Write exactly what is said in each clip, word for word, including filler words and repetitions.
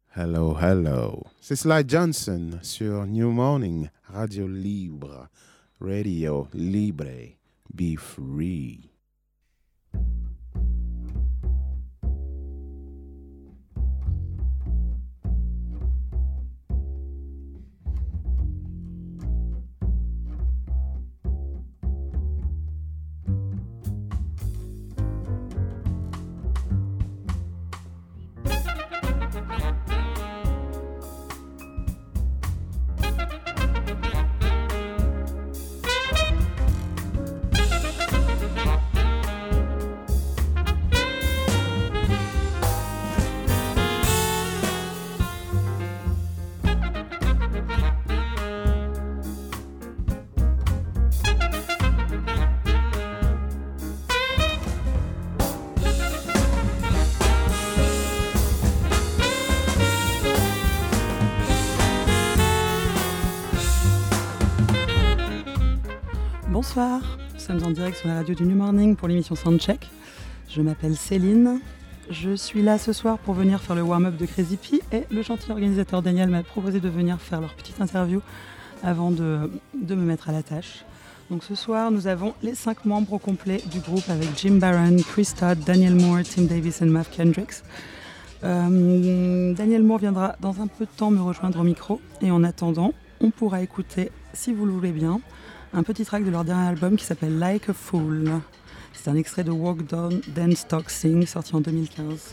Hello, hello. C'est Sly Johnson sur New Morning, Radio Libre, Radio Libre, Be Free. Bonsoir, nous sommes en direct sur la radio du New Morning pour l'émission Soundcheck. Je m'appelle Céline, je suis là ce soir pour venir faire le warm-up de Crazy P et le gentil organisateur Daniel m'a proposé de venir faire leur petite interview avant de, de me mettre à la tâche. Donc ce soir, nous avons les cinq membres au complet du groupe avec Jim Barron, Chris Todd, Daniel Moore, Tim Davis et Mav Kendricks. Euh, Daniel Moore viendra dans un peu de temps me rejoindre au micro et en attendant, on pourra écouter, si vous le voulez bien, un petit track de leur dernier album qui s'appelle Like a Fool. C'est un extrait de Walk Down, Dance, Talk, Sing, sorti en deux mille quinze.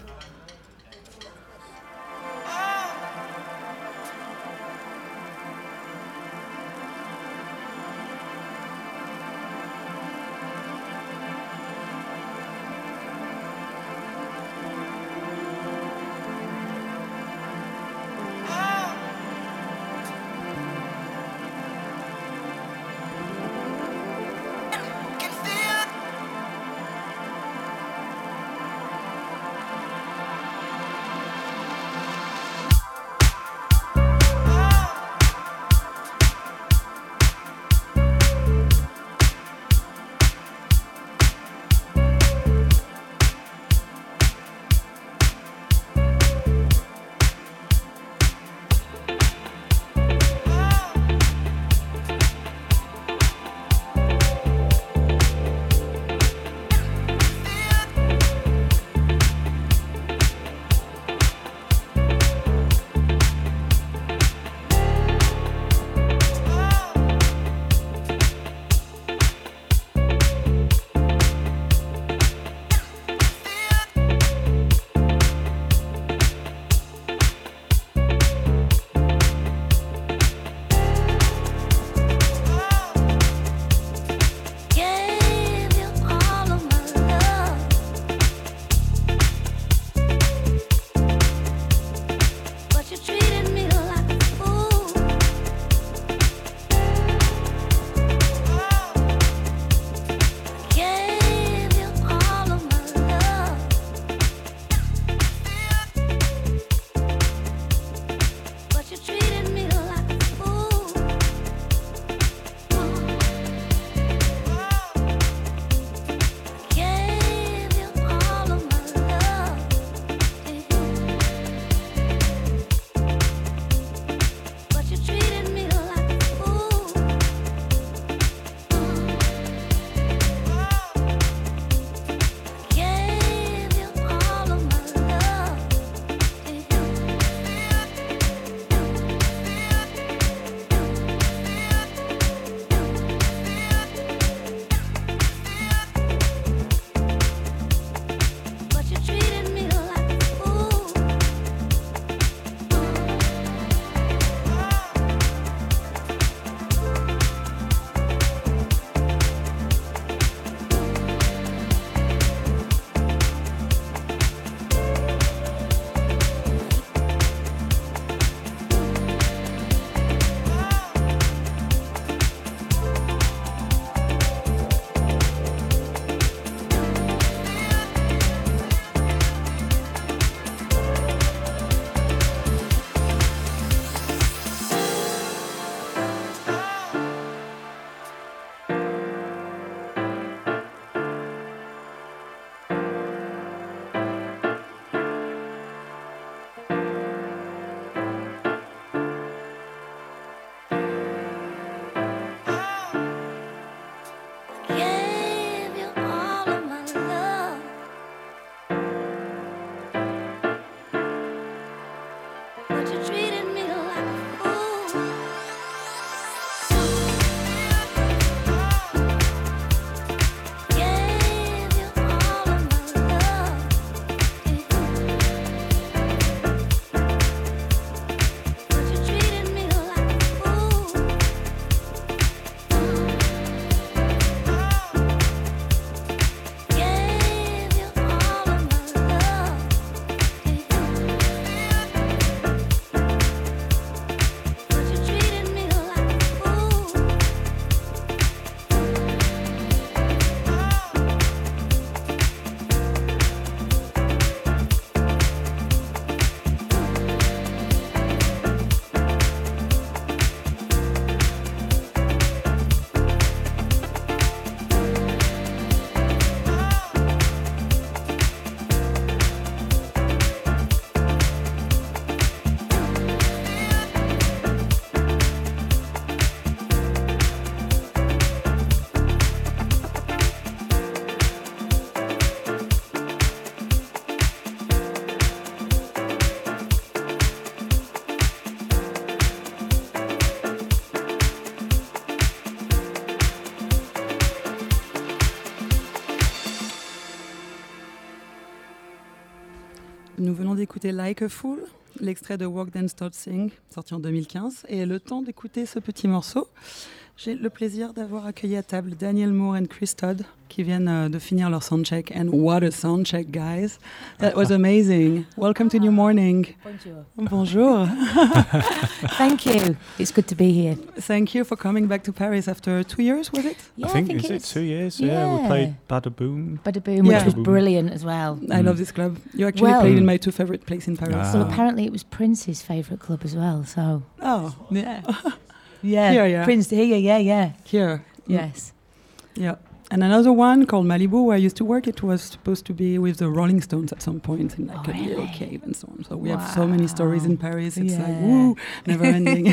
d'écouter Like a Fool, l'extrait de Walk Dance Talk Sing, sorti en deux mille quinze. Et le temps d'écouter ce petit morceau, j'ai le plaisir d'avoir accueilli à table Daniel Moore et Chris Todd, qui viennent uh, de finir leur soundcheck. And what a soundcheck, guys! That was amazing. Welcome to New Morning. Bonjour. Bonjour. Thank you. It's good to be here. Thank you for coming back to Paris after two years, was it? Yeah, I think, think is it it's two years? Yeah, we yeah. played Bada Boom. Bada Boom, Yeah. which was brilliant as well. I Mm. love this club. You actually Well- played in my two favorite places in Paris. Ah. Well, apparently it was Prince's favourite club as well. So Oh, yeah, yeah, Here, yeah. Prince here, yeah, yeah, here. yes. Yeah. And another one called Malibu, where I used to work, it was supposed to be with the Rolling Stones at some point in like Oh, a little really? cave and so on. So we have so many stories in Paris. It's like, Yeah. woo, never ending.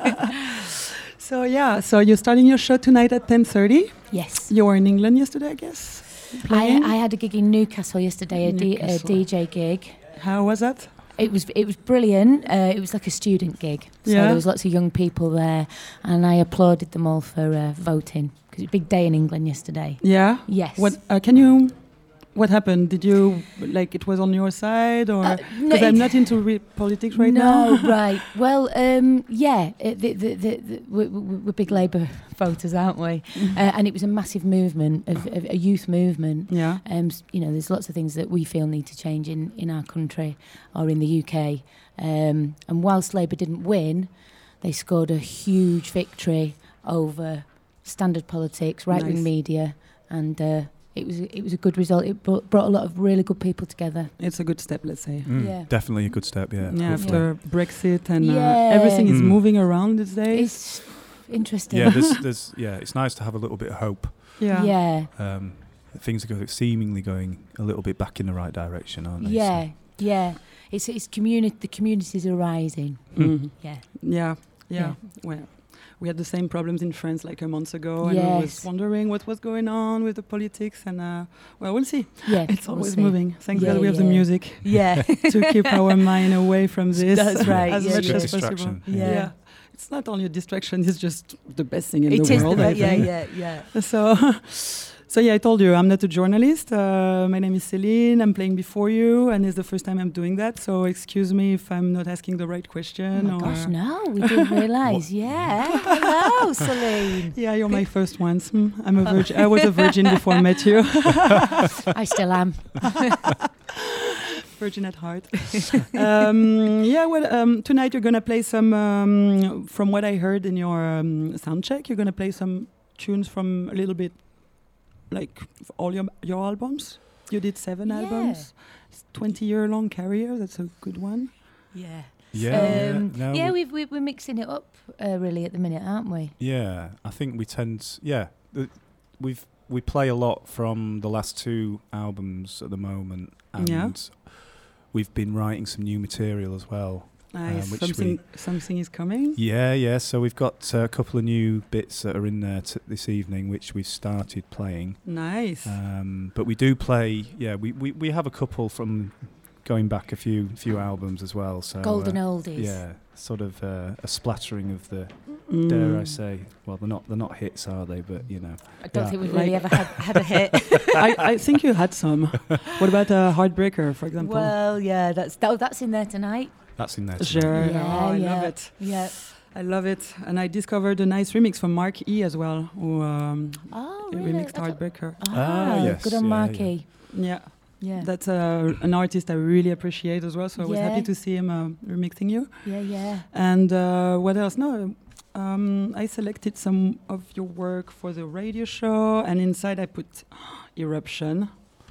So yeah, so you're starting your show tonight at ten thirty. Yes. You were in England yesterday, I guess? I, Playing? I had a gig in Newcastle yesterday, a, D, a Newcastle. D J gig. How was that? It was it was brilliant. Uh, it was like a student gig, so Yeah. there was lots of young people there, and I applauded them all for uh, voting because it's a big day in England yesterday. Yeah? Yes. What uh, can you... What happened? Did you, like, it was on your side? Or Uh, no, because I'm it- not into re- politics right no, now. right. Well, um, yeah, it, the, the, the, the, we're, we're big Labour voters, aren't we? Uh, and it was a massive movement, of, of a youth movement. Yeah. Um, s- you know, there's lots of things that we feel need to change in, in our country or in the U K. Um, and whilst Labour didn't win, they scored a huge victory over standard politics, right-wing Nice. media, and uh, it was it was a good result. It brought, brought a lot of really good people together. It's a good step, let's say. Mm, Yeah. Definitely a good step, yeah. Yeah, hopefully. after Brexit and uh, Yeah. everything is Mm. moving around these days. It's interesting. Yeah, there's, there's, yeah, it's nice to have a little bit of hope. Yeah. yeah. Um, things are go- seemingly going a little bit back in the right direction, aren't they? Yeah, yeah. It's it's community. The communities are rising. Mhm. Yeah, Yeah. Yeah. Yeah. Well, we had the same problems in France like a month ago, and I was Yes. wondering what was going on with the politics. And uh, well, we'll see. yeah. It's we'll always see. moving. Thank Yeah, God we have the yeah. music Yeah, to keep our mind away from this. That's right, As yeah, much yeah. as Good possible. distraction, yeah. Yeah. It's not only a distraction; it's just the best thing in it the is. world. The, I yeah, think. yeah, yeah. So, so yeah, I told you I'm not a journalist. Uh, my name is Celine. I'm playing before you, and it's the first time I'm doing that. So excuse me if I'm not asking the right Oh question. my or gosh, no, we didn't realise. Yeah, hello, Celine. Yeah, you're my first ones. Hmm, I'm a virgin. I was a virgin before I met you. I still am. Virgin at heart. um, yeah, well, um, tonight you're gonna play some. Um, from what I heard in your um, sound check, you're gonna play some tunes from a little bit, like f- all your your albums. You did seven Yeah. albums. It's twenty year long career. That's a good one. Yeah. Yeah, Um, yeah. No, yeah, we- we've, we, we're mixing it up uh, really at the minute, aren't we? yeah, I think we tend, yeah, th- we've we play a lot from the last two albums at the moment, and Yeah. we've been writing some new material as well. Nice. which something something is coming. Yeah, yeah. So we've got uh, a couple of new bits that are in there t- this evening, which we've started playing. Nice. Um, but we do play. Yeah, we, we, we have a couple from going back a few few albums as well. So Golden uh, oldies. Yeah, sort of uh, a splattering of the. Mm. Dare I say? Well, they're not they're not hits, are they? But you know. I don't Yeah. think we've Like- really ever had, had a hit. I, I think you had some. What about a Heartbreaker, for example? Well, yeah, that's that, that's in there tonight. That's in there. tonight. Sure. Yeah, Oh, I yeah. love it. Yeah. I love it. And I discovered a nice remix from Mark E as well, who um, Oh, really? remixed I don't- Heartbreaker. Ah, yes, good on yeah, Marky. Yeah, Yeah. that's uh, an artist I really appreciate as well. So I was Yeah. happy to see him uh, remixing you. Yeah, yeah. And uh, what else? No, um, I selected some of your work for the radio show, and inside I put Eruption,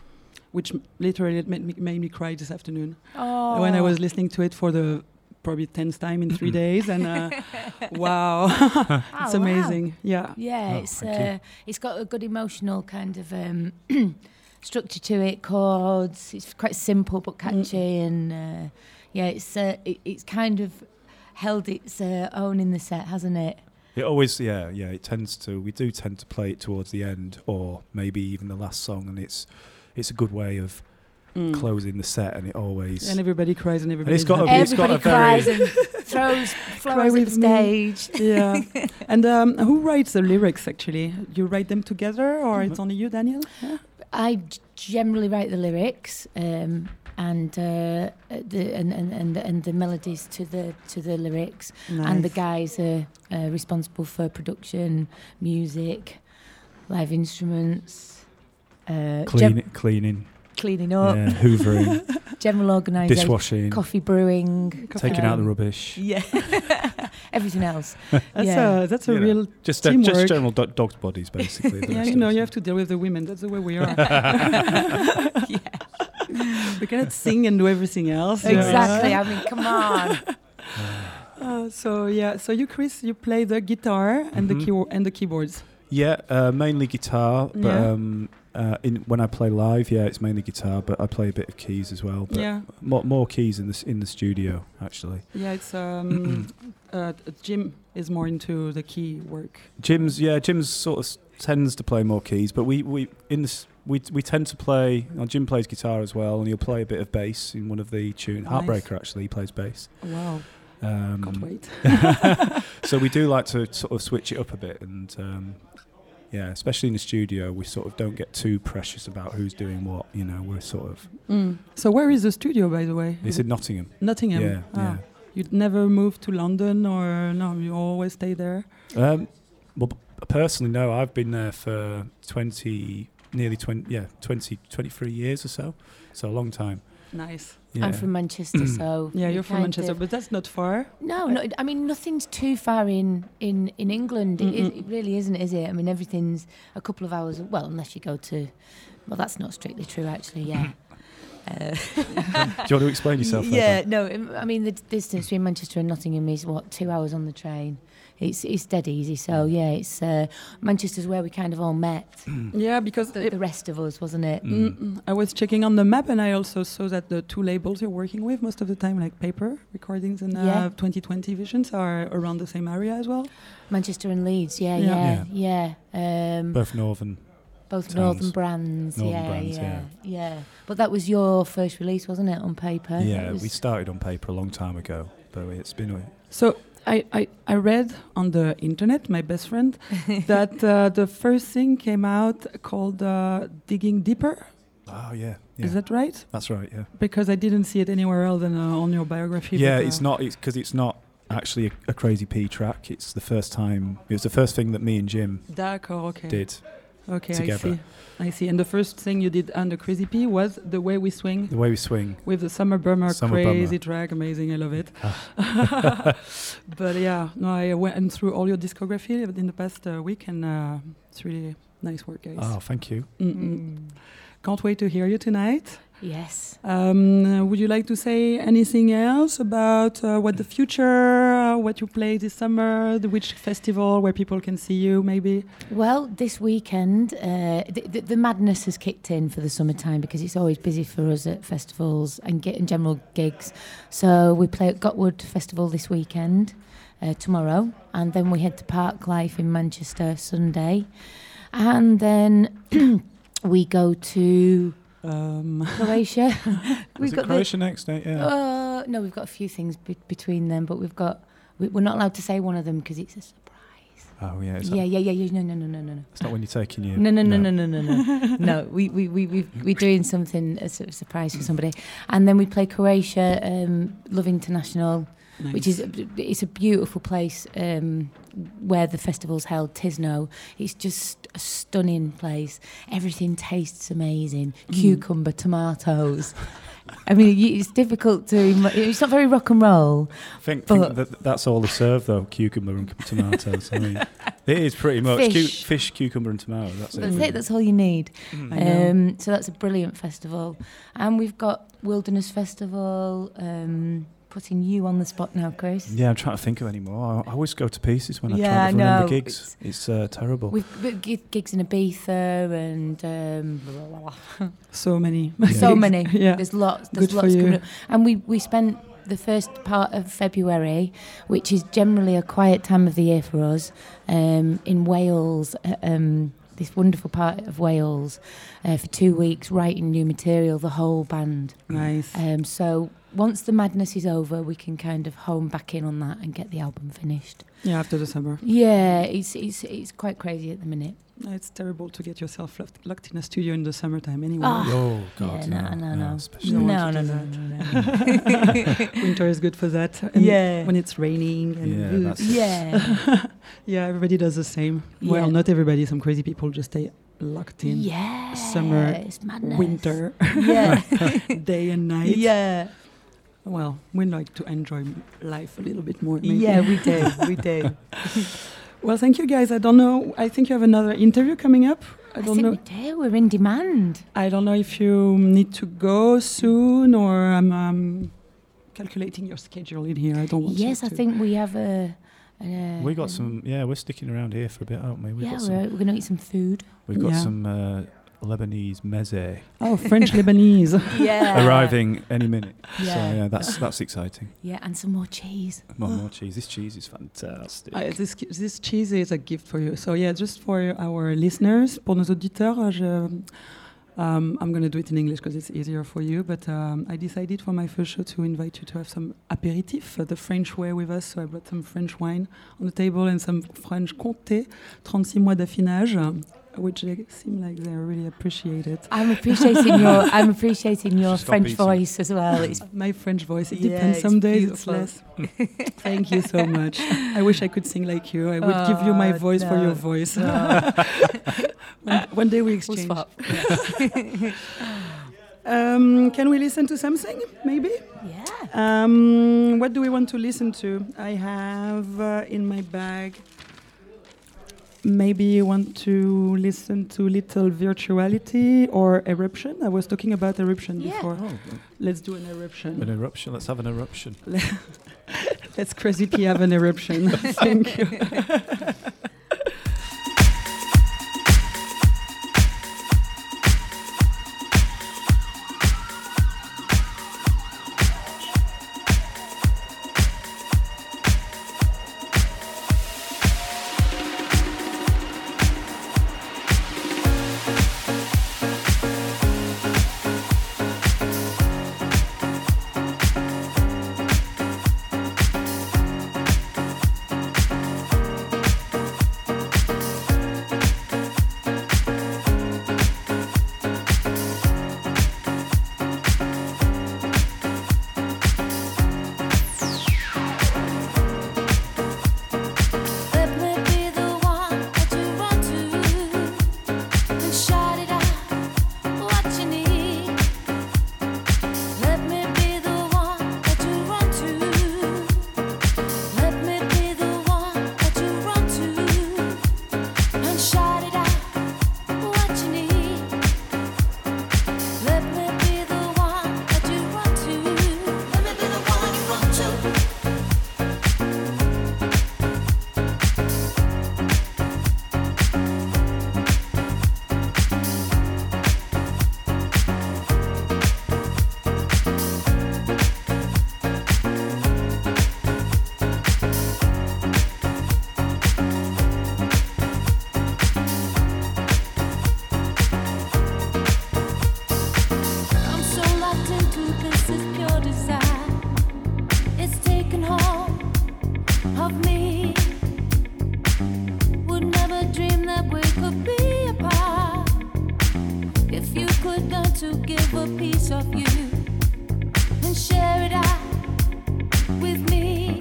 which m- literally made me, made me cry this afternoon Oh. when I was listening to it for the probably tenth time in three days. And uh, wow, Oh, it's wow. amazing. Yeah. Yeah, Oh, it's thank you. uh, it's got a good emotional kind of um, structure to it. Chords. It's quite simple but catchy, and uh, yeah, it's uh, it, it's kind of held its uh, own in the set, hasn't it? It always, yeah, yeah. It tends to. We do tend to play it towards the end, or maybe even the last song, and it's it's a good way of Mm. closing the set, and it always. And everybody cries and everybody. it's got a- happy. It's got Everybody a very- cries and throws flowers at the with me. stage. Yeah. And um, who writes the lyrics actually? You write them together, or it's only you, Daniel? Yeah. I g- generally write the lyrics, um, and uh, the and, and, and and the melodies to the to the lyrics, Nice. and the guys are uh, responsible for production, music, live instruments, uh, Clean, gem- cleaning, cleaning up, yeah, hoovering, general organisation, dishwashing, coffee brewing, taking um, out the rubbish. yeah, everything else. That's yeah. a that's a You know, real Just, uh, teamwork. just general do- dog's bodies, basically. the yeah. rest You of know, us. you have to deal with the women. That's the way we are. yeah. We cannot sing and do everything else. you know. Exactly. I mean, come on. Uh, so yeah, so you, Chris, you play the guitar and Mhm. the keyboard and the keyboards. Yeah, uh, mainly guitar, but Yeah. um, uh, in when I play live, yeah, it's mainly guitar, but I play a bit of keys as well. But Yeah, more, more keys in the s- in the studio actually. yeah. It's um, uh, Jim is more into the key work. Jim's yeah, Jim's sort of s- tends to play more keys, but we we in this we we tend to play. Well, Jim plays guitar as well, and he'll play a bit of bass in one of the tunes. Nice. Heartbreaker actually, he plays bass. Wow, Um, can't wait. so we do like to sort of switch it up a bit, and um, yeah, especially in the studio, we sort of don't get too precious about who's doing what. You know, we're sort of Mm. So where is the studio, by the way? it's in Nottingham. Nottingham. Yeah, Ah. yeah. You'd never move to London, or no? You always stay there. Um, well, p- personally, no. I've been there for twenty, nearly twenty, yeah, twenty, twenty-three years or so. So a long time. Nice. Yeah. I'm from Manchester, so Yeah, we you're from kind Manchester, of- but that's not far. No, no. I mean, nothing's too far in in in England. It, Mm-mm. it really isn't, is it? I mean, everything's a couple of hours. Well, unless you go to. Well, that's not strictly true, actually. Yeah. Uh, Do you want to explain yourself? yeah. No. im- I mean, the d- distance between Manchester and Nottingham is what, two hours on the train. It's it's dead easy. So yeah, it's uh, Manchester's where we kind of all met. Yeah, because The, it- the rest of us, wasn't it? Mm. Mm-mm. I was checking on the map, and I also saw that the two labels you're working with most of the time, like Paper Recordings and uh, Yeah. twenty twenty Visions, are around the same area as well. Manchester and Leeds. Yeah, Yeah. yeah, yeah. Um, Both northern. Both Towns. Northern brands, Northern yeah, brands, yeah, yeah. But that was your first release, wasn't it, on Paper? That Yeah, was- we started on Paper a long time ago, but it's been a So I, I, I read on the internet, my best friend, that uh, the first thing came out called uh, Digging Deeper. oh yeah, yeah. Is that right? That's right. Yeah. Because I didn't see it anywhere else than uh, on your biography. Yeah, but, uh, it's not. It's because it's not actually a, a Crazy P track. It's the first time. It was the first thing that me and Jim D'accord, okay. did Okay, together. I see. I see. And the first thing you did under Crazy P was The Way We Swing. The way we swing. With the Summer Bummer, Summer crazy Bummer. track, amazing, I love it. But yeah, no, I went through all your discography in the past uh, week, and uh, it's really nice work, guys. Oh, thank you. Mm-mm. Mm. Can't wait to hear you tonight. Yes. Um, uh, would you like to say anything else about uh, what the future, uh, what you play this summer, the which festival where people can see you, maybe? Well, this weekend, uh, the, the, the madness has kicked in for the summertime because it's always busy for us at festivals and get in general gigs. So we play at Gotwood Festival this weekend, uh, tomorrow, and then we head to Park Life in Manchester Sunday, and then we go to Um, Croatia. Was it Croatia next day? The, Yeah. uh, no, we've got a few things be- between them, but we've got we, we're not allowed to say one of them because it's a surprise. oh yeah. Is Yeah, that, yeah, yeah, yeah. No, no, no, no, no, no. It's not when you're taking your. No, no, no, no, no, no, no. No, we we we we we're doing something as a surprise for somebody, and then we play Croatia, um, Love International, nice. which is it's a beautiful place um, where the festival's held. Tisno, it's just a stunning place. Everything tastes amazing. Mm. Cucumber, tomatoes. I mean, y- it's difficult to. im- It's not very rock and roll. I think, But- think that that's all they serve though: cucumber and tomatoes. I mean, it is pretty much Fish. Cu- fish, cucumber, and tomato. That's it. That's really. it. That's all you need. I know. Um, so that's a brilliant festival, and we've got Wilderness Festival. Um, putting you on the spot now, Chris. Yeah, I'm trying to think of any more. I, I always go to pieces when I Yeah, try I to remember know. gigs. It's uh, terrible. We've got gi- gigs in Ibiza and um, So many. so many. Yeah. There's lots. Good There's for lots you. coming up. And we we spent the first part of February, which is generally a quiet time of the year for us, um, in Wales. uh, Um, this wonderful part of Wales, uh, for two weeks writing new material. The whole band. Nice. Um, so once the madness is over, we can kind of hone back in on that and get the album finished. Yeah, after the summer. Yeah, it's it's it's quite crazy at the minute. It's terrible to get yourself locked, locked in a studio in the summertime anyway. Ah. Oh God, Yeah, no, no, no. especially- don't No, want no, to no, do no, no. Winter is good for that. And Yeah. when it's raining. And Yeah, Ugh. that's- Yeah. Yeah, everybody does the same. Yeah. Well, not everybody. Some crazy people just stay locked in. Yeah. Summer, It's madness. Winter, Yeah. day and night. Yeah. Well, we like to enjoy life a little bit more. Maybe. Yeah, we do. We do. Well, thank you guys. I don't know. I think you have another interview coming up. I I don't think know. we do. We're in demand. I don't know if you need to go soon or I'm um, calculating your schedule in here. I don't want Yes, you I to. think we have a. a We got an- some. Yeah, we're sticking around here for a bit, aren't we? We've Yeah, got we're, some. we're going to eat some food. We've got Yeah. some uh, Lebanese meze Oh, French Lebanese. Yeah. arriving any minute. So Yeah. yeah, that's that's exciting. Yeah, and some more cheese. More, more cheese. This cheese is fantastic. Uh, this, this cheese is a gift for you. So yeah, just for our listeners, pour nos auditeurs, je, um, I'm going to do it in English because it's easier for you. But um, I decided for my first show to invite you to have some apéritif, uh, the French way with us. So I brought some French wine on the table and some French Comté, thirty-six mois d'affinage, um, which they seem like they really appreciate it. I'm appreciating your. I'm appreciating your Stop French eating. voice as well. It's My French voice, it Yeah, depends. it's Some days beautiful. it's less. Thank you so much. I wish I could sing like you. I would give you my Oh, voice for no. your voice. No. one, one day we We'll exchange. swap. Um, can we listen to something, maybe? Yeah. Um, what do we want to listen to? I have uh, in my bag. Maybe you want to listen to Little Virtuality or Eruption. I was talking about Eruption Yeah. before. Oh, Let's do an eruption. an eruption. Let's have an eruption. Let's Crazy P have an eruption. Thank you. Let me be the one that you run to and shout it out what you need. Let me be the one that you run to. Let me be the one that you run to and shout it out what you need. Let me be the one that you run to. Let me be the one you run to. I'm so locked into this is pure desire. It's taken hold of me. Would never dream that we could be apart. If you could learn to give a piece of you and share it out with me.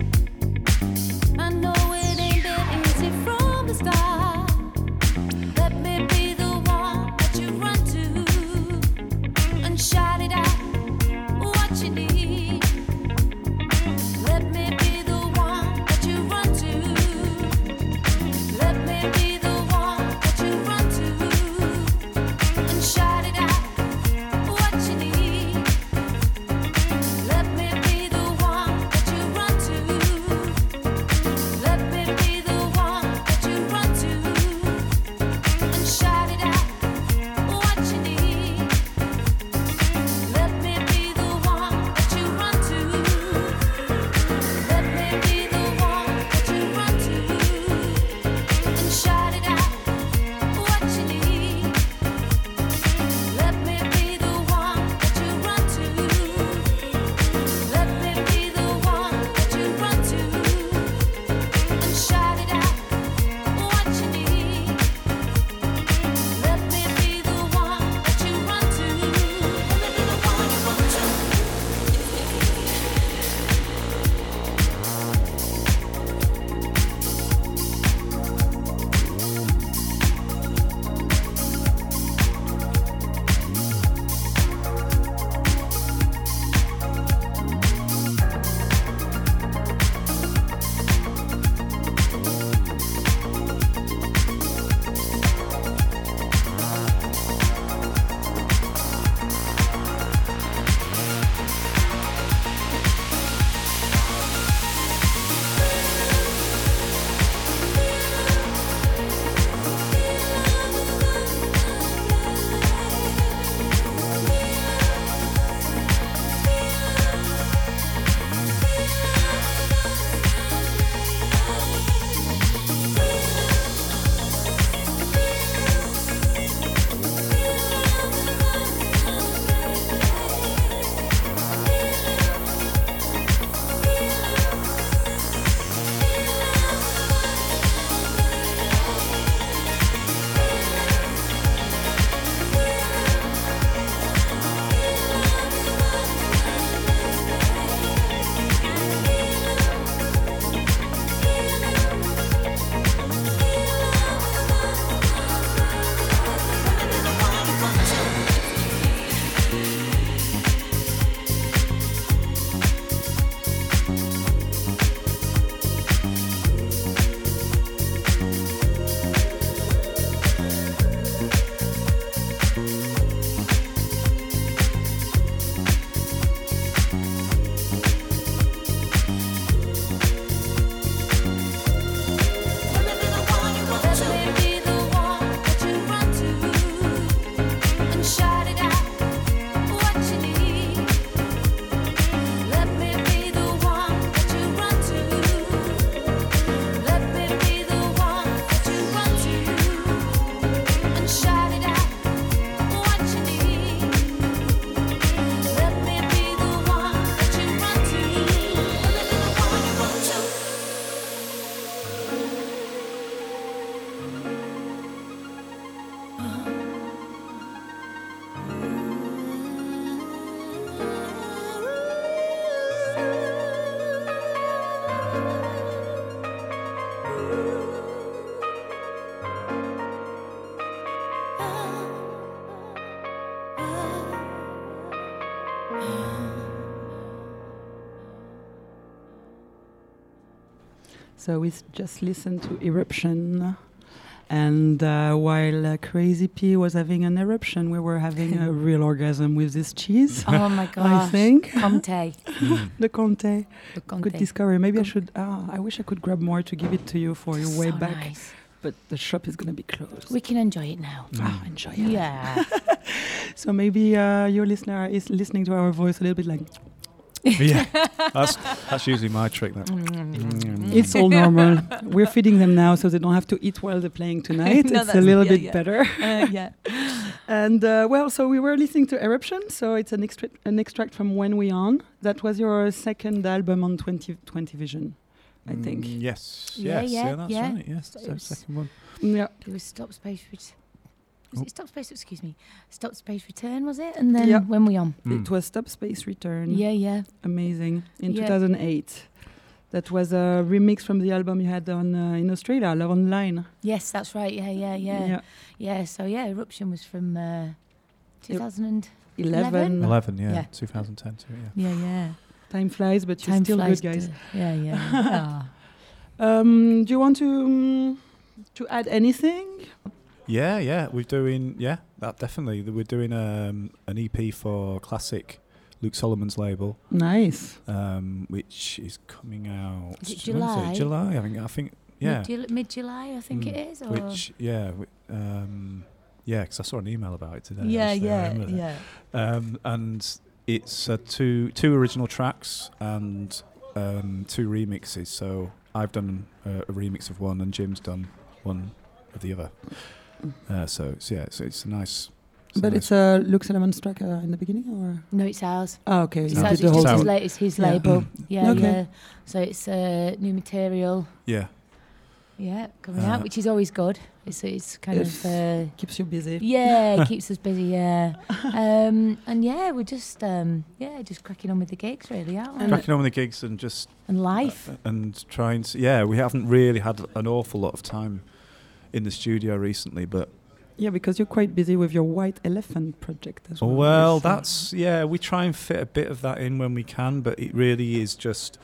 I know it ain't been easy from the start. Let me be the one that you run to and shout it out what you need. Let me be the one that you run to. Let me be the one that you run to and shout it out what you need. So we s- just listened to Eruption. And uh, while uh, Crazy P was having an eruption, we were having a real orgasm with this cheese. Oh my gosh. I think. Comté. The Conte. The Comté. Good discovery. Maybe I Com- should. Ah, I wish I could grab more to give it to you for your way So back. nice. But the shop is going to be closed. We can enjoy it now. Ah, enjoy it. Yeah. So maybe uh, your listener is listening to our voice a little bit like, Yeah, that's that's usually my trick. That. it's all normal. We're feeding them now so they don't have to eat while they're playing tonight. No, It's a that's- little yeah, bit yeah. better. Uh, yeah. And uh, well, so we were listening to Eruption. So it's an, extra- an extract from When We On. That was your second album on twenty twenty Vision, I think. Mm, yes. Yeah, yes. yeah, that's yeah. right. Yes. So That's the it's- second one. Yeah. It was Stop Space Ret- Was Oh. it Stop Space, excuse me, Stop Space Return, was it? And then Yeah. When We On. Mm. It was Stop Space Return. Yeah, yeah. Amazing. In Yeah. two thousand eight. That was a remix from the album you had on uh, in Australia, Love Online. Yes, that's right. Yeah, yeah, yeah. Yeah, so yeah, Eruption was from uh, two thousand eleven. Eleven. Yeah. Yeah. two thousand ten. Too, yeah. Yeah, yeah. Time flies, but you're Time still flies good, guys. to- yeah, yeah. Ah. Um, do you want to um, to add anything? Yeah, yeah, we're doing yeah, that definitely. We're doing um, an E P for Classic, Luke Solomon's label, Nice. um, which is coming out. Is it when July? July, I think. I think yeah. Mid- Mid-July, I think Mm, it is. Or Which yeah, wi- um, yeah, because I saw an email about it today. yeah, actually, I yeah, remember that. yeah. Um, and it's uh, two two original tracks and um, two remixes. So I've done uh, a remix of one, and Jim's done one of the other. Uh, so it's, yeah, so it's a nice. It's a But nice it's a Luke Solomon's track uh, in the beginning, or No, it's ours. oh, okay, It's you No, ours. did It's the whole just his, thing. la- it's his Yeah. label. Yeah, Okay. yeah. So it's uh, new material. yeah. Yeah, coming Uh, out, which is always good. It's it's kind If- of uh, Keeps you busy. yeah, it keeps us busy. Yeah, um, and yeah, we're just um, yeah, just cracking on with the gigs, really, aren't we? And- Cracking on with the gigs and just And life. uh, and trying to yeah, we haven't really had an awful lot of time in the studio recently, but Yeah, because you're quite busy with your White Elephant project as well. well, Yes, uh, that's yeah. We try and fit a bit of that in when we can, but it really is just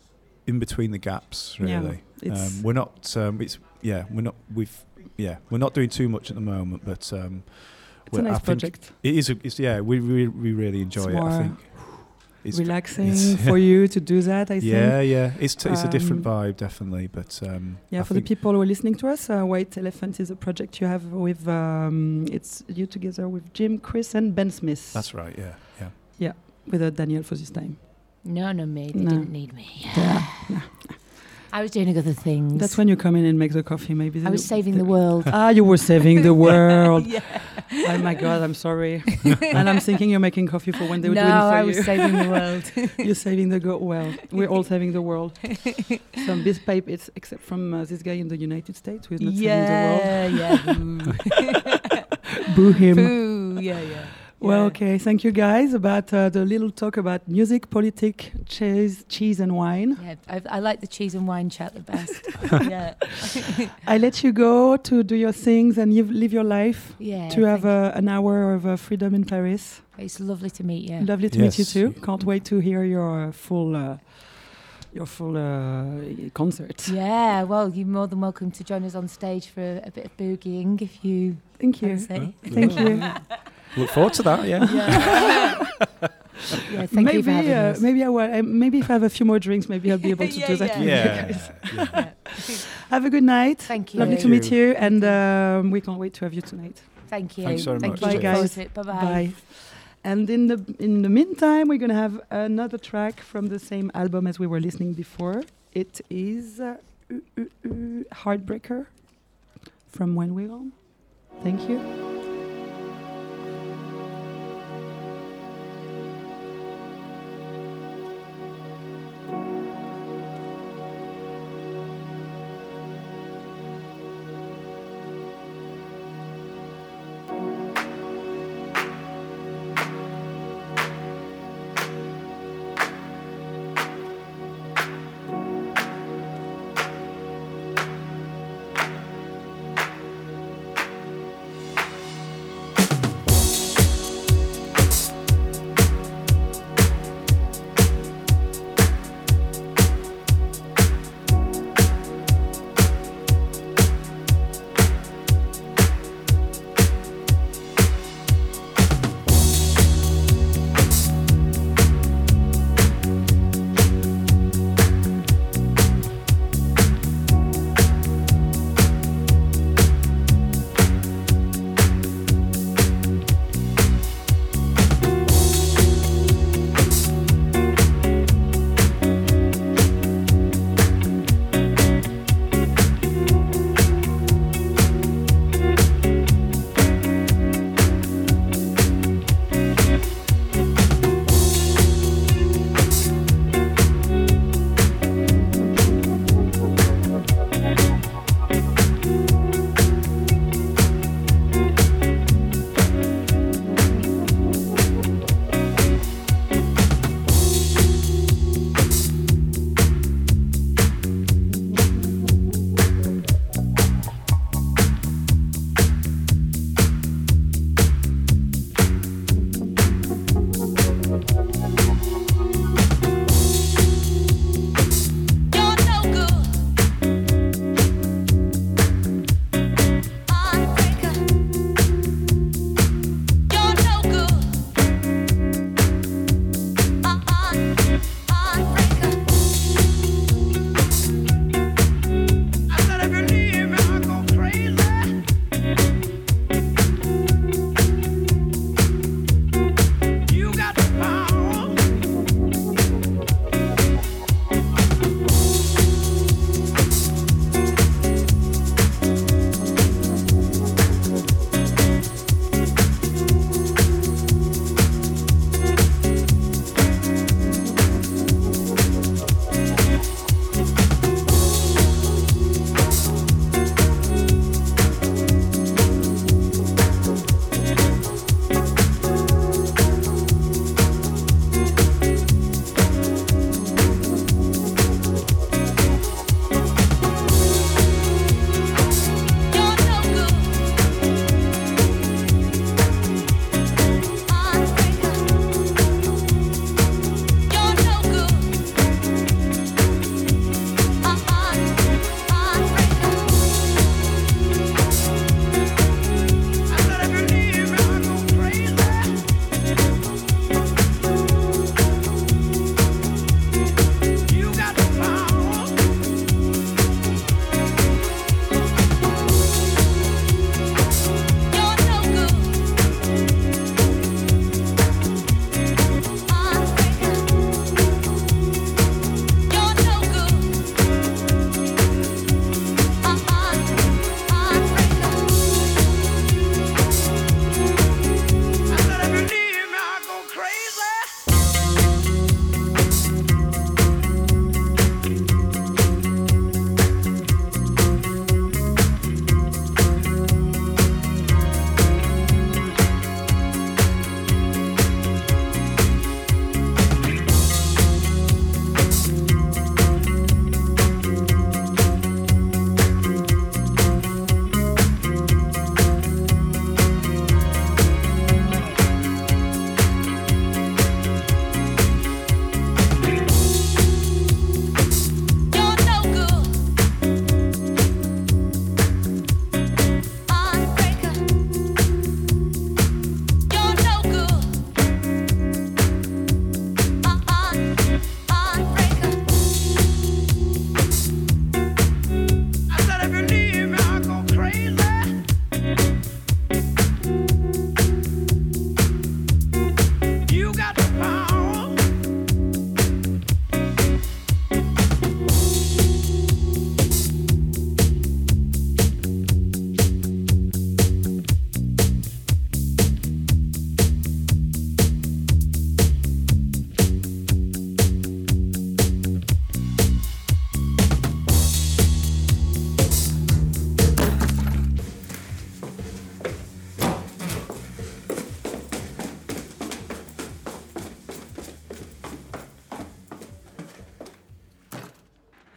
in between the gaps. Yeah, Really, it's- um, we're not. Um, it's yeah, we're not. We've yeah, we're not doing too much at the moment, but um, it's a well, I nice think project. it is. A, it's yeah. We we, we really enjoy It's it. I more think it's Relaxing it's- for you to do that, I think. yeah, yeah. It's t- it's a different Um, vibe, definitely. But um, Yeah, I for the think- people who are listening to us, uh, White Elephant is a project you have with, um, it's you together with Jim, Chris, and Ben Smith. That's right. Yeah, yeah. With uh, Daniel for this time. No, no, me. They No. didn't need me. Yeah. I was doing other things. That's when you come in and make the coffee, maybe. I was saving the world. Ah, you were saving the world. Yeah. Oh my God, I'm sorry. And I'm thinking you're making coffee for when they were no, doing it for I you. was saving the world. You're saving the go. Well, we're all saving the world. Some this pipe, it's except from uh, this guy in the United States who is not saving the world. yeah, yeah. Boo him. Boo. Yeah, yeah. Well, Yeah. okay. Thank you guys about uh, the little talk about music, politics, cheese, cheese and wine. Yeah, I, I like the cheese and wine chat the best. yeah. I let you go to do your things and you live your life. Yeah. to have thank uh, an hour of uh, freedom in Paris. you. It's lovely to meet you. Lovely to meet you Yes. too. Can't wait to hear your uh, full uh, your full uh, concert. Yeah, well, you're more than welcome to join us on stage for a, a bit of boogieing if you Thank you. fancy. Thank you. Look forward to that. Yeah. Yeah. yeah, thank maybe you for having uh, us. maybe I will. Uh, maybe if I have a few more drinks, maybe I'll be able to Yeah, do that yeah. with you Yeah. guys. yeah. Yeah. Have a good night. Thank you. Lovely Thank to meet you. you, and um, we can't wait to have you tonight. Thank you. Thanks very Thank much. you. Bye, Look forward guys. to it. Bye-bye. Bye. And in the in the meantime, we're gonna have another track from the same album as we were listening before. It is uh, uh, uh, uh, Heartbreaker from When We're On. Thank you.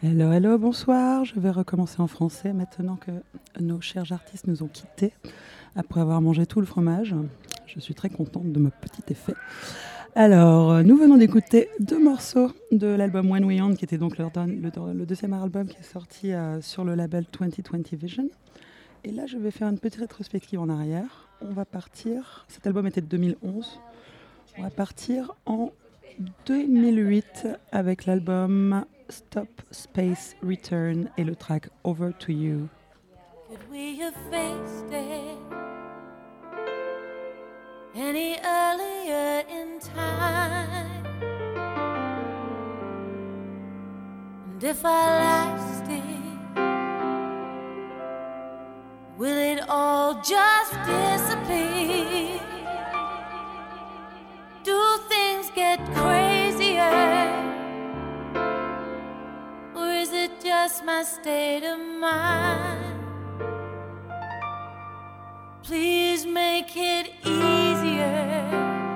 Hello, hello, bonsoir. Je vais recommencer en français maintenant que nos chers artistes nous ont quittés après avoir mangé tout le fromage. Je suis très contente de mon petit effet. Alors, nous venons d'écouter deux morceaux de l'album When We On, qui était donc leur don- le, le deuxième album qui est sorti euh, sur le label vingt vingt Vision. Et là, je vais faire une petite rétrospective en arrière. On va partir, cet album était de deux mille onze, on va partir en deux mille huit avec l'album Stop Space Return et le track Over to You. Could we have faced it any earlier in time? And if I lasted, will it all just disappear? Do things get crazier? Or is it just my state of mind? Please make it easier,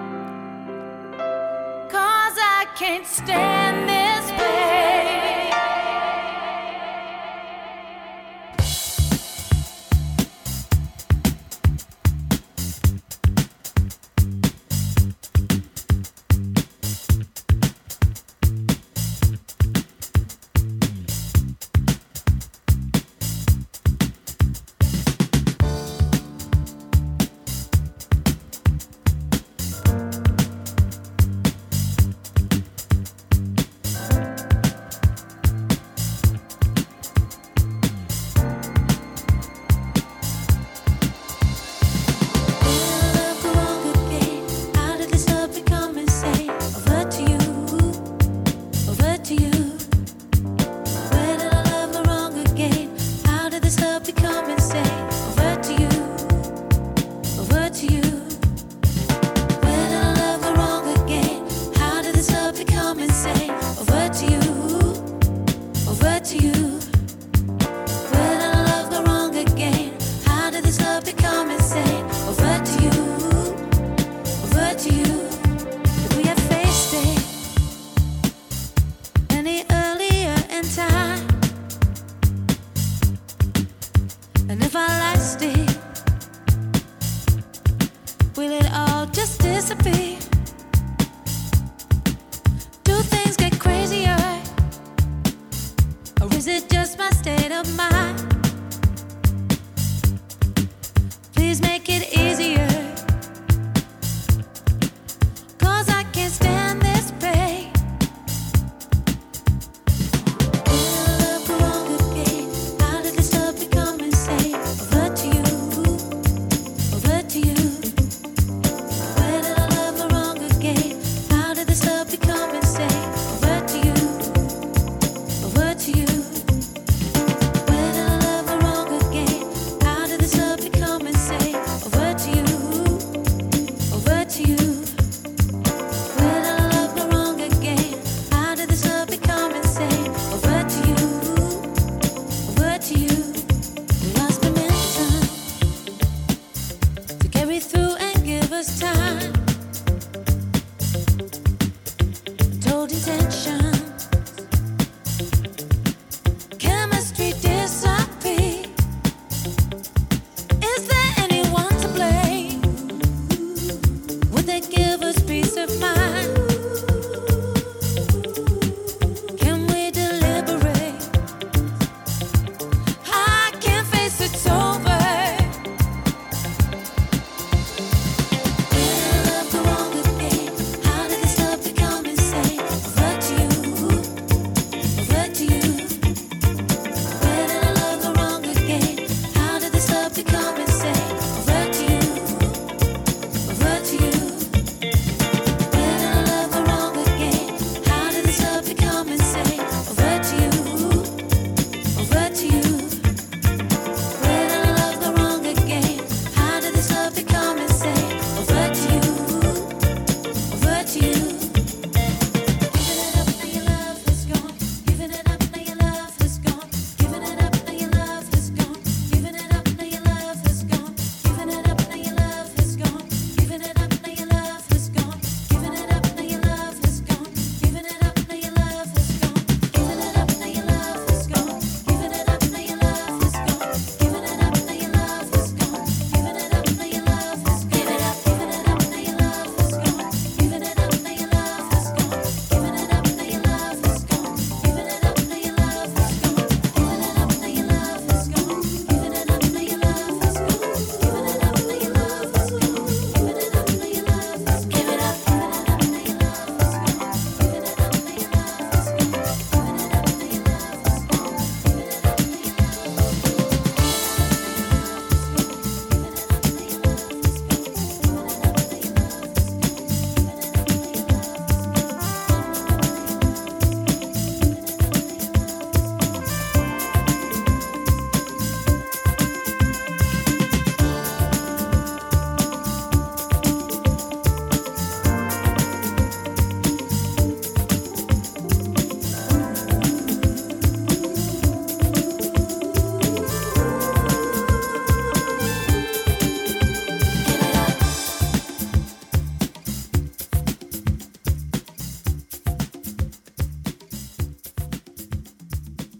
'cause I can't stand this pain. Over to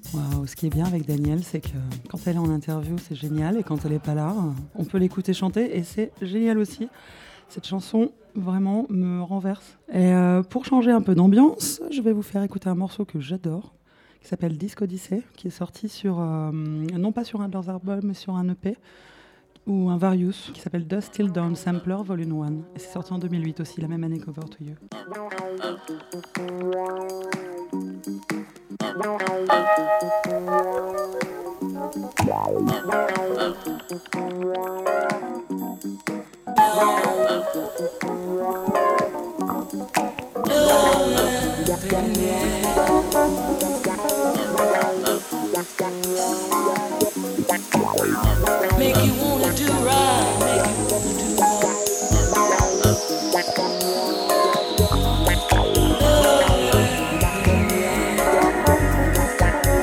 Waouh, ce qui est bien avec Danielle, c'est que quand elle est en interview, c'est génial, et quand elle n'est pas là, on peut l'écouter chanter, et c'est génial aussi. Cette chanson, vraiment, me renverse. Et euh, pour changer un peu d'ambiance, je vais vous faire écouter un morceau que j'adore, qui s'appelle Disco Odyssey, qui est sorti sur, euh, non pas sur un de leurs albums, mais sur un E P, ou un Various, qui s'appelle Dust Till Dawn Sampler Volume un. Et c'est sorti en deux mille huit aussi, la même année qu'Over to You. Make you wanna do right, make you wanna do right.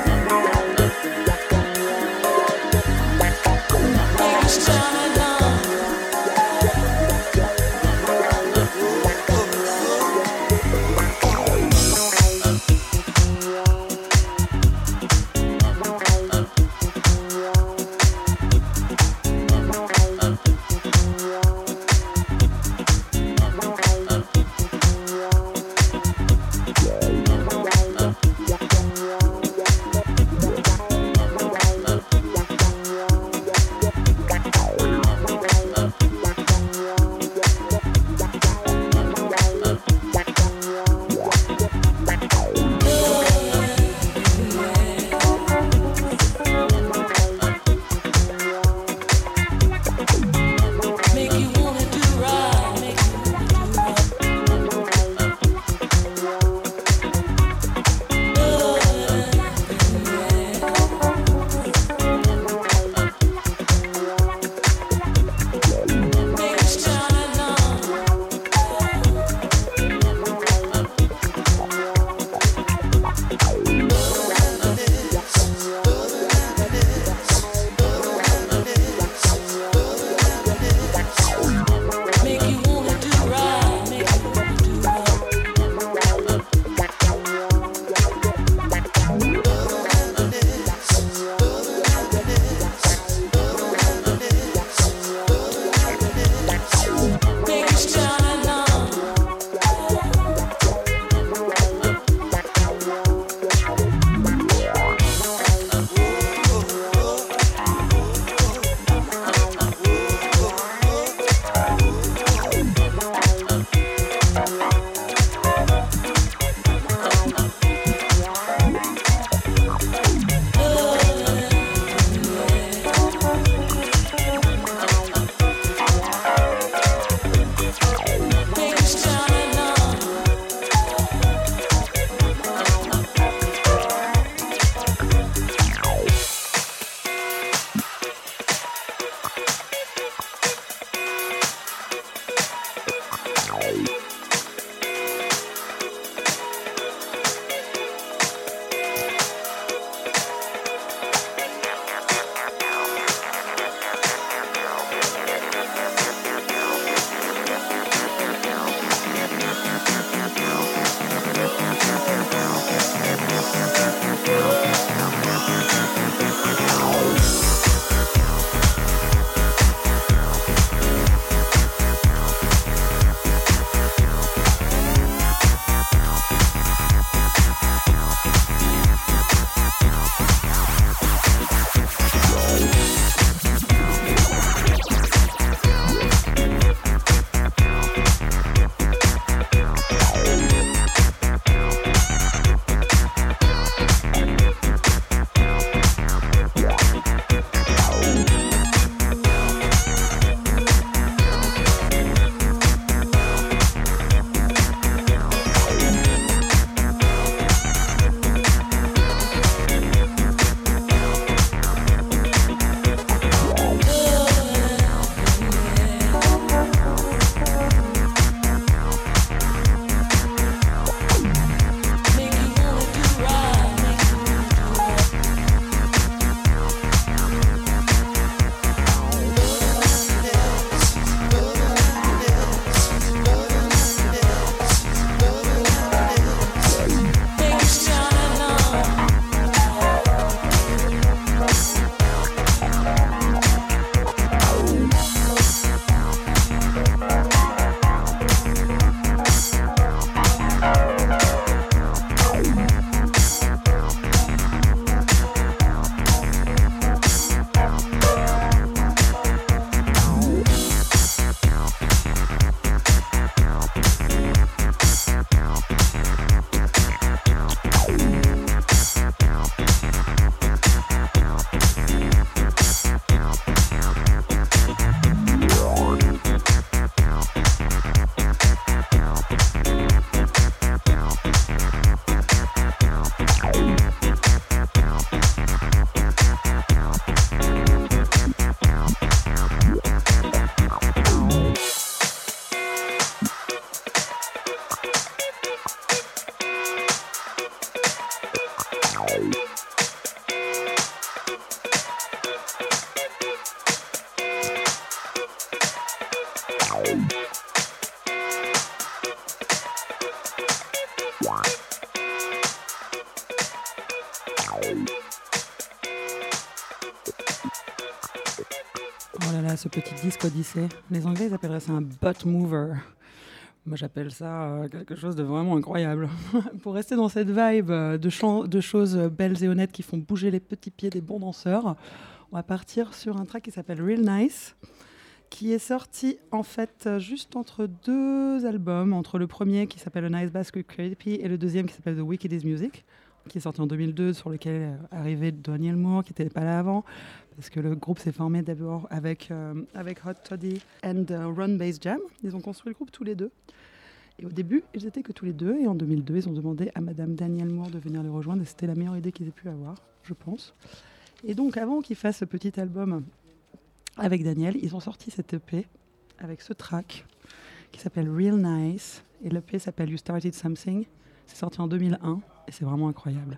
Oh là là, ce petit disque Odyssée. Les Anglais, ils appelleraient ça un butt mover. Moi, j'appelle ça euh, quelque chose de vraiment incroyable. Pour rester dans cette vibe euh, de, chant, de choses belles et honnêtes qui font bouger les petits pieds des bons danseurs, on va partir sur un track qui s'appelle Real Nice, qui est sorti en fait juste entre deux albums, entre le premier qui s'appelle A Nice Basket Creepy et le deuxième qui s'appelle The Wicked Is Music, qui est sorti en deux mille deux, sur lequel est arrivé Daniel Moore, qui n'était pas là avant, parce que le groupe s'est formé d'abord avec, euh, avec Hot Toddy and uh, Run Bass Jam. Ils ont construit le groupe tous les deux. Et au début, ils étaient que tous les deux. Et en deux mille deux, ils ont demandé à Madame Daniel Moore de venir les rejoindre. Et c'était la meilleure idée qu'ils aient pu avoir, je pense. Et donc, avant qu'ils fassent ce petit album avec Daniel, ils ont sorti cet E P avec ce track qui s'appelle Real Nice. Et l'E P s'appelle You Started Something. C'est sorti en deux mille un et c'est vraiment incroyable.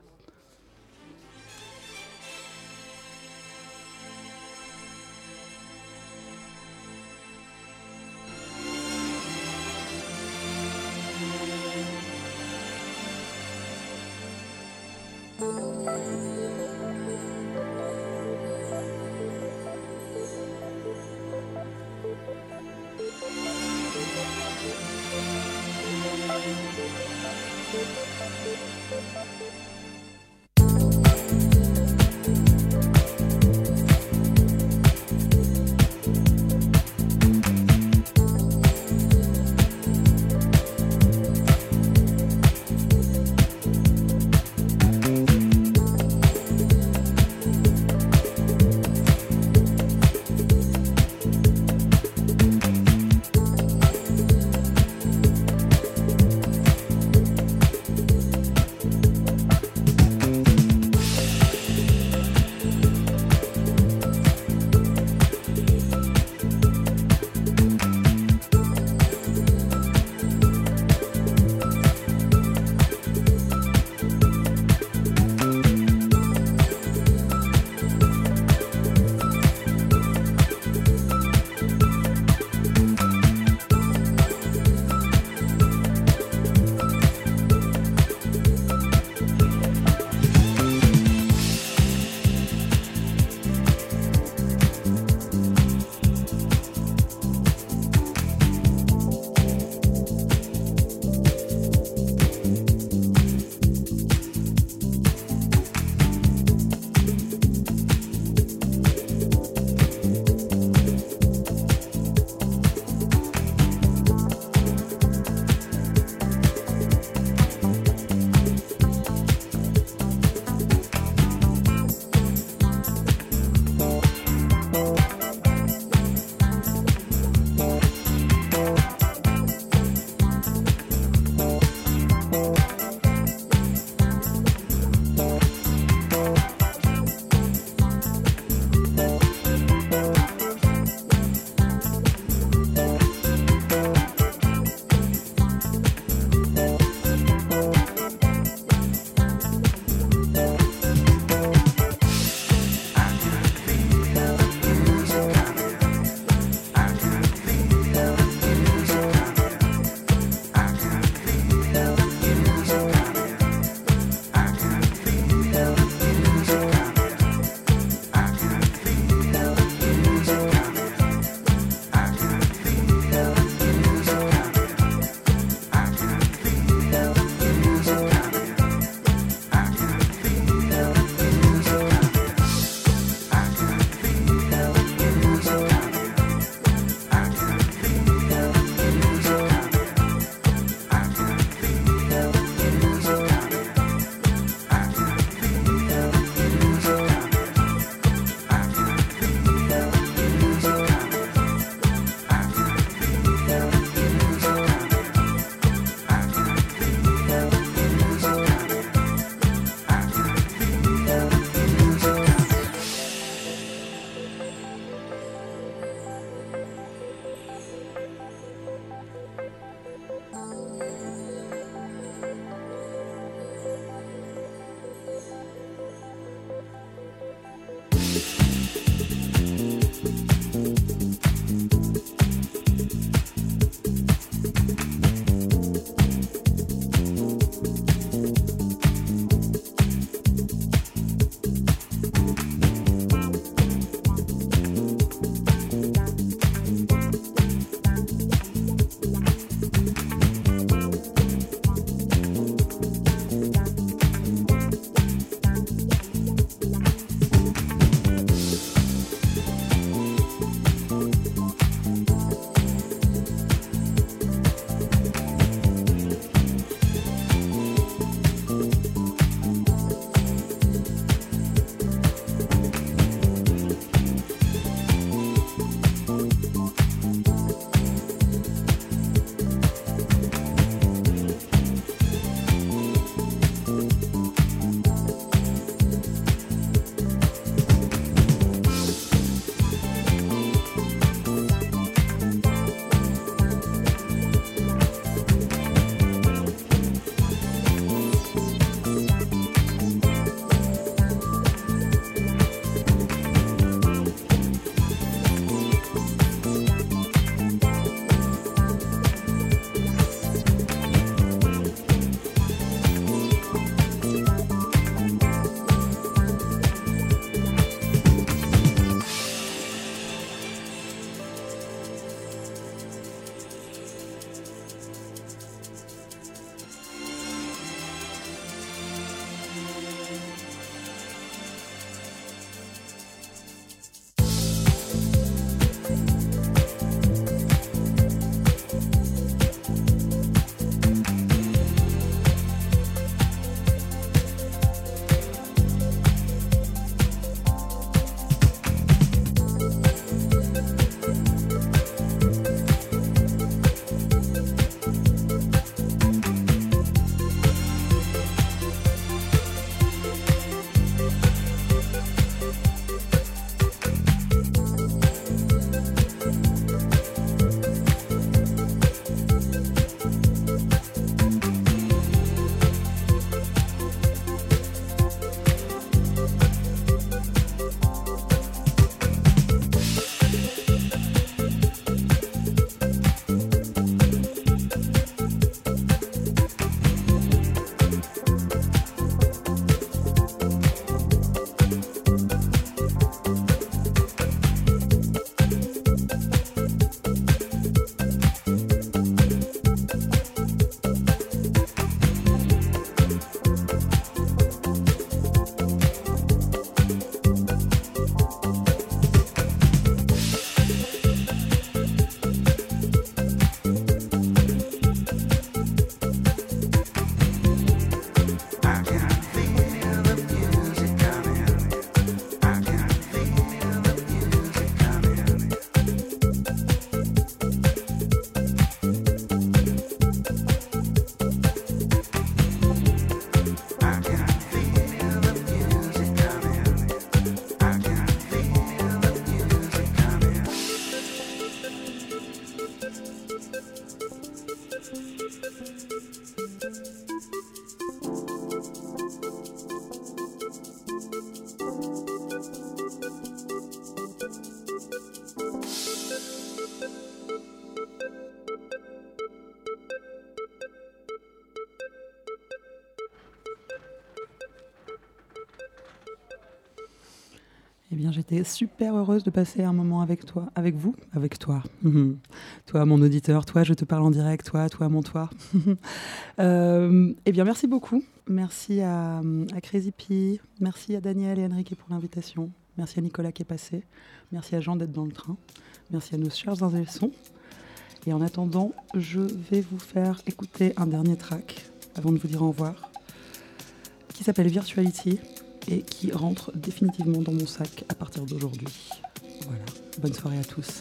Eh bien, j'étais super heureuse de passer un moment avec toi, avec vous, avec toi. Toi, mon auditeur, toi, je te parle en direct, toi, toi, mon toi. euh, eh bien, merci beaucoup. Merci à, à Crazy P, merci à Daniel et Enrique pour l'invitation. Merci à Nicolas qui est passé. Merci à Jean d'être dans le train. Merci à nos chers ingé son. Et en attendant, je vais vous faire écouter un dernier track avant de vous dire au revoir, qui s'appelle Virtuality et qui rentre définitivement dans mon sac à partir d'aujourd'hui. Voilà, bonne soirée à tous.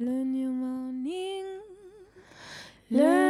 Le New Morning. Le